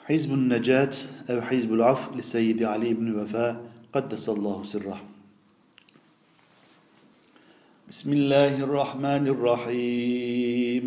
حزب النجاة أو حزب العفو للسيد علي بن وفاء قدس الله سره. بسم الله الرحمن الرحيم.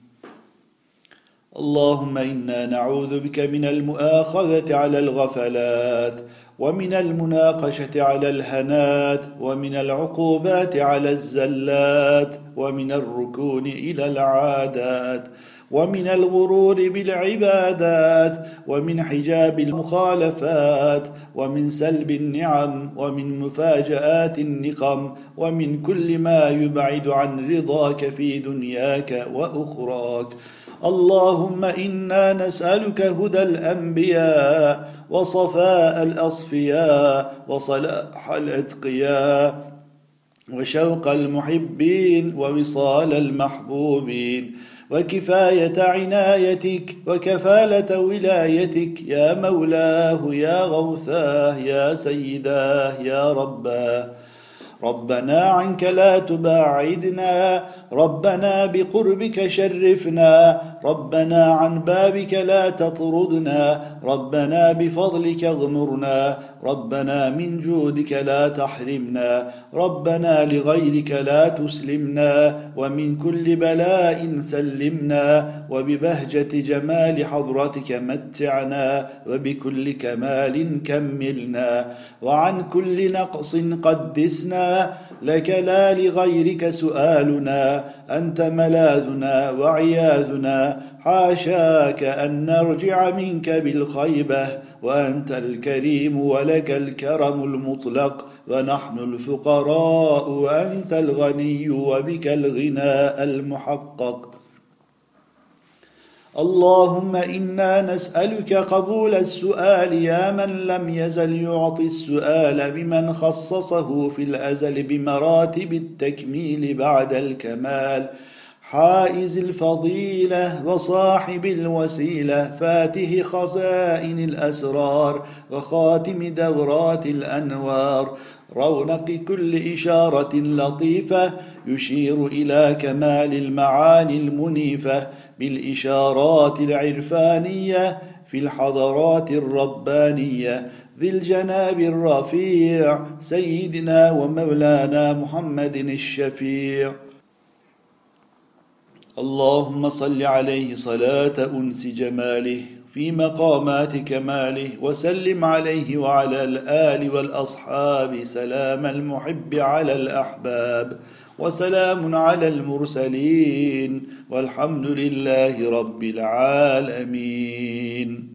اللهم إنا نعوذ بك من المؤاخذة على الغفلات، ومن المناقشة على الهنات، ومن العقوبات على الزلات، ومن الركون إلى العادات، ومن الغرور بالعبادات، ومن حجاب المخالفات، ومن سلب النعم، ومن مفاجآت النقم، ومن كل ما يبعد عن رضاك في دنياك وأخراك. اللهم إنا نسألك هدى الأنبياء، وصفاء الأصفياء، وصلاح الأتقياء، وشوق المحبين، ووصال المحبوبين، وكفاية عنايتك، وكفالة ولايتك، يا مولاه يا غوثاه يا سيداه يا رباه. ربنا عنك لا تباعدنا، ربنا بقربك شرفنا، ربنا عن بابك لا تطردنا، ربنا بفضلك اغمرنا، ربنا من جودك لا تحرمنا، ربنا لغيرك لا تسلمنا، ومن كل بلاء سلمنا، وببهجة جمال حضرتك متعنا، وبكل كمال كملنا، وعن كل نقص قدسنا، لك لا لغيرك سؤالنا، أنت ملاذنا وعياذنا، حاشاك أن نرجع منك بالخيبة، وأنت الكريم ولك الكرم المطلق، ونحن الفقراء وأنت الغني وبك الغناء المحقق. اللهم إنا نسألك قبول السؤال يا من لم يزل يعطي السؤال بمن خصصه في الأزل بمراتب التكميل بعد الكمال، حائز الفضيلة وصاحب الوسيلة، فاته خزائن الأسرار، وخاتم دورات الأنوار، رونق كل إشارة لطيفة يشير إلى كمال المعاني المنيفة بالإشارات العرفانية في الحضرات الربانية، ذي الجناب الرفيع سيدنا ومولانا محمد الشفيع. اللهم صل عليه صلاة أنس جماله في مقامات كماله، وسلم عليه وعلى الآل والأصحاب سلام المحب على الأحباب، وسلام على المرسلين، والحمد لله رب العالمين.